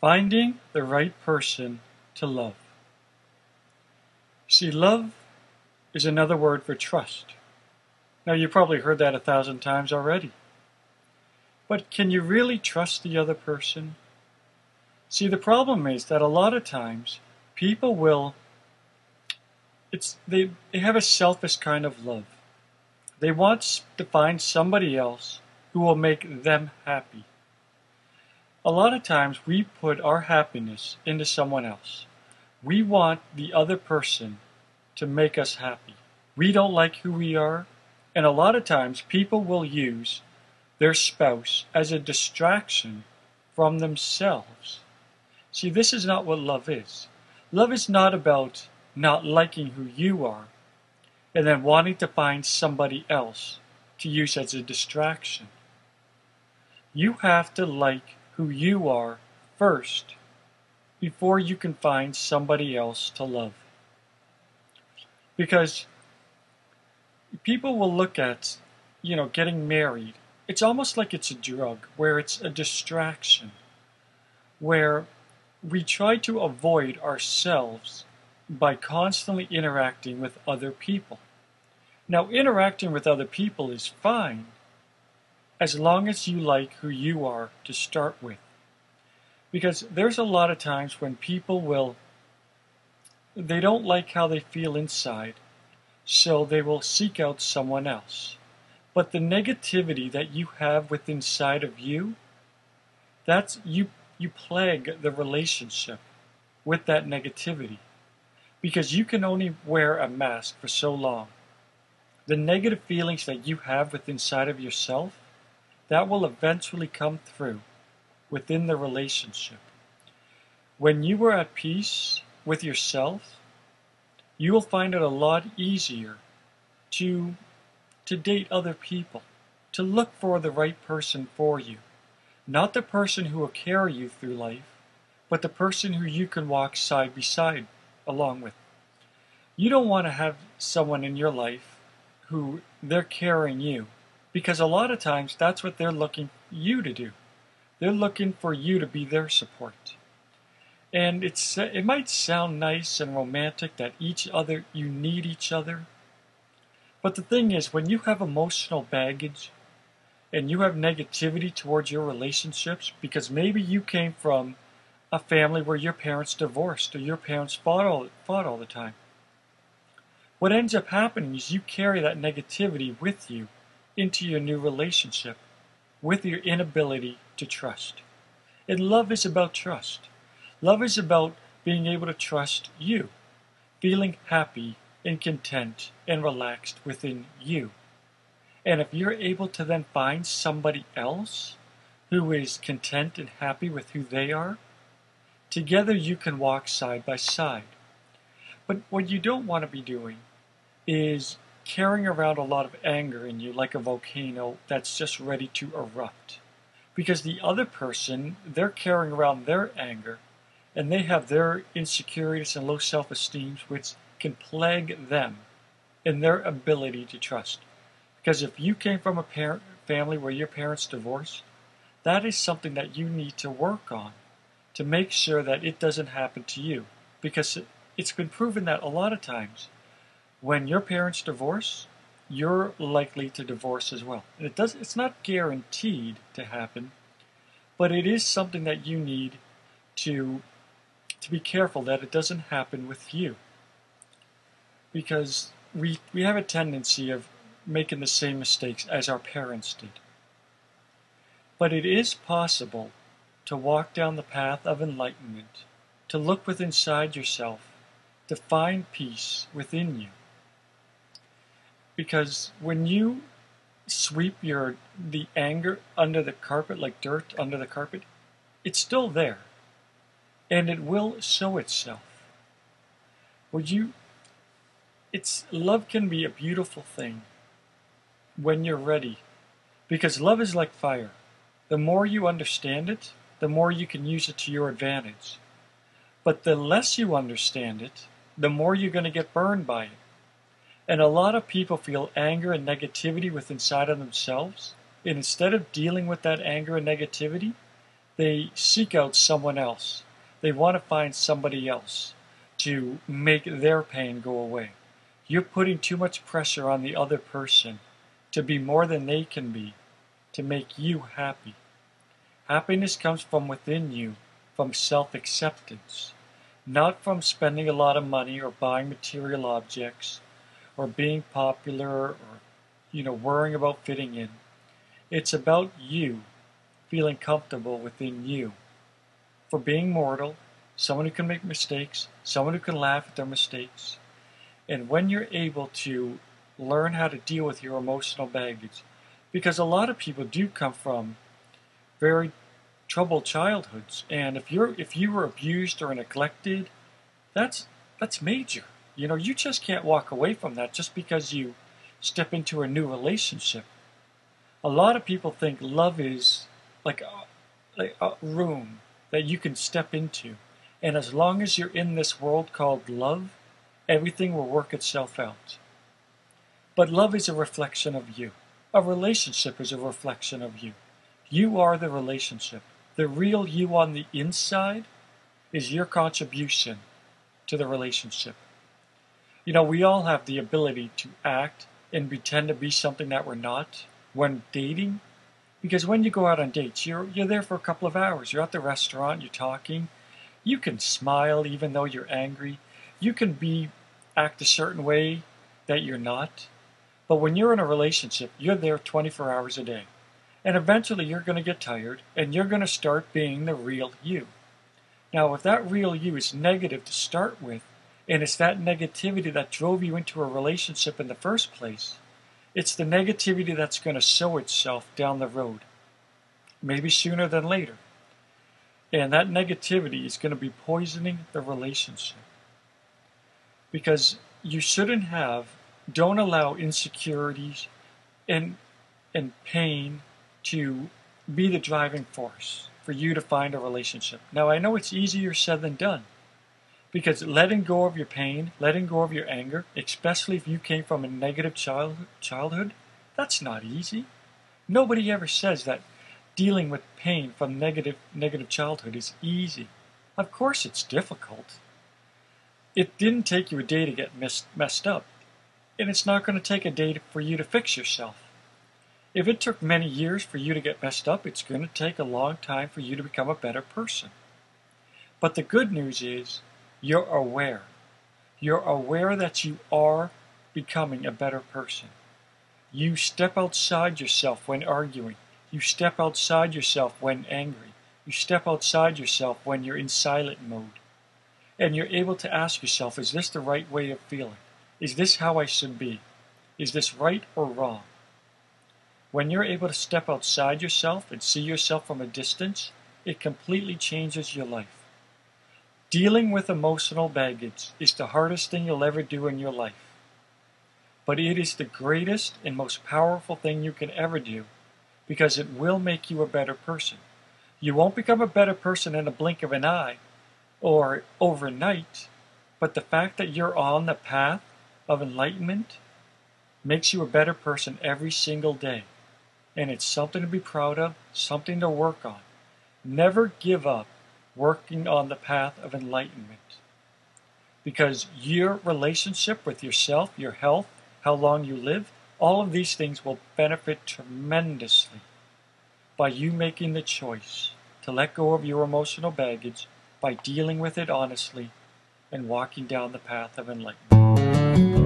Finding the right person to love. See, love is another word for trust. Now, you probably heard that 1,000 times already. But can you really trust the other person? See, the problem is that a lot of times people they have a selfish kind of love. They want to find somebody else who will make them happy. A lot of times we put our happiness into someone else. We want the other person to make us happy. We don't like who we are, and a lot of times people will use their spouse as a distraction from themselves. See, this is not what love is. Love is not about not liking who you are and then wanting to find somebody else to use as a distraction. You have to like who you are first before you can find somebody else to love. Because people will look at, getting married. It's almost like it's a drug, where it's a distraction, where we try to avoid ourselves by constantly interacting with other people. Now, interacting with other people is fine, as long as you like who you are to start with. Because there's a lot of times when people they don't like how they feel inside, so they will seek out someone else. But the negativity that you have within inside of you, that's you plague the relationship with that negativity. Because you can only wear a mask for so long. The negative feelings that you have within inside of yourself, that will eventually come through within the relationship. When you are at peace with yourself, you will find it a lot easier to date other people, to look for the right person for you. Not the person who will carry you through life, but the person who you can walk side by side along with. You don't want to have someone in your life who they're carrying you, because a lot of times that's what they're looking for you to do. They're looking for you to be their support. And it might sound nice and romantic that you need each other. But the thing is, when you have emotional baggage and you have negativity towards your relationships, because maybe you came from a family where your parents divorced or your parents fought all the time. What ends up happening is you carry that negativity with you into your new relationship with your inability to trust. And love is about trust. Love is about being able to trust you, feeling happy and content and relaxed within you. And if you're able to then find somebody else who is content and happy with who they are, together you can walk side by side. But what you don't want to be doing is carrying around a lot of anger in you like a volcano that's just ready to erupt. Because the other person, they're carrying around their anger, and they have their insecurities and low self-esteem, which can plague them in their ability to trust. Because if you came from a family where your parents divorced, that is something that you need to work on to make sure that it doesn't happen to you. Because it's been proven that a lot of times, when your parents divorce, you're likely to divorce as well. And it's not guaranteed to happen, but it is something that you need to be careful that it doesn't happen with you. Because we have a tendency of making the same mistakes as our parents did. But it is possible to walk down the path of enlightenment, to look within inside yourself, to find peace within you. Because when you sweep the anger under the carpet like dirt under the carpet, it's still there. And it will show itself. Love can be a beautiful thing when you're ready. Because love is like fire. The more you understand it, the more you can use it to your advantage. But the less you understand it, the more you're going to get burned by it. And a lot of people feel anger and negativity within inside of themselves, and instead of dealing with that anger and negativity, They seek out someone else. They want to find somebody else to make their pain go away. You're putting too much pressure on the other person to be more than they can be, to make you happy. Happiness comes from within you, from self-acceptance, not from spending a lot of money or buying material objects or being popular or, worrying about fitting in. It's about you feeling comfortable within you. For being mortal, someone who can make mistakes, someone who can laugh at their mistakes. And when you're able to learn how to deal with your emotional baggage, because a lot of people do come from very troubled childhoods, and if you were abused or neglected, that's major. You just can't walk away from that just because you step into a new relationship. A lot of people think love is like a room that you can step into, and as long as you're in this world called love, everything will work itself out. But love is a reflection of you. A relationship is a reflection of you. You are the relationship. The real you on the inside is your contribution to the relationship. We all have the ability to act and pretend to be something that we're not when dating. Because when you go out on dates, you're there for a couple of hours. You're at the restaurant, you're talking. You can smile even though you're angry. You can act a certain way that you're not. But when you're in a relationship, you're there 24 hours a day. And eventually you're going to get tired and you're going to start being the real you. Now, if that real you is negative to start with, and it's that negativity that drove you into a relationship in the first place, it's the negativity that's going to sow itself down the road, maybe sooner than later. And that negativity is going to be poisoning the relationship. Because don't allow insecurities and pain to be the driving force for you to find a relationship. Now, I know it's easier said than done, because letting go of your pain, letting go of your anger, especially if you came from a negative childhood, that's not easy. Nobody ever says that dealing with pain from negative childhood is easy. Of course it's difficult. It didn't take you a day to get messed up, and it's not going to take a day for you to fix yourself. If it took many years for you to get messed up, it's going to take a long time for you to become a better person. But the good news is, you're aware. You're aware that you are becoming a better person. You step outside yourself when arguing. You step outside yourself when angry. You step outside yourself when you're in silent mode. And you're able to ask yourself, is this the right way of feeling? Is this how I should be? Is this right or wrong? When you're able to step outside yourself and see yourself from a distance, it completely changes your life. Dealing with emotional baggage is the hardest thing you'll ever do in your life. But it is the greatest and most powerful thing you can ever do, because it will make you a better person. You won't become a better person in a blink of an eye or overnight, but the fact that you're on the path of enlightenment makes you a better person every single day. And it's something to be proud of, something to work on. Never give up working on the path of enlightenment. Because your relationship with yourself, your health, how long you live, all of these things will benefit tremendously by you making the choice to let go of your emotional baggage by dealing with it honestly and walking down the path of enlightenment.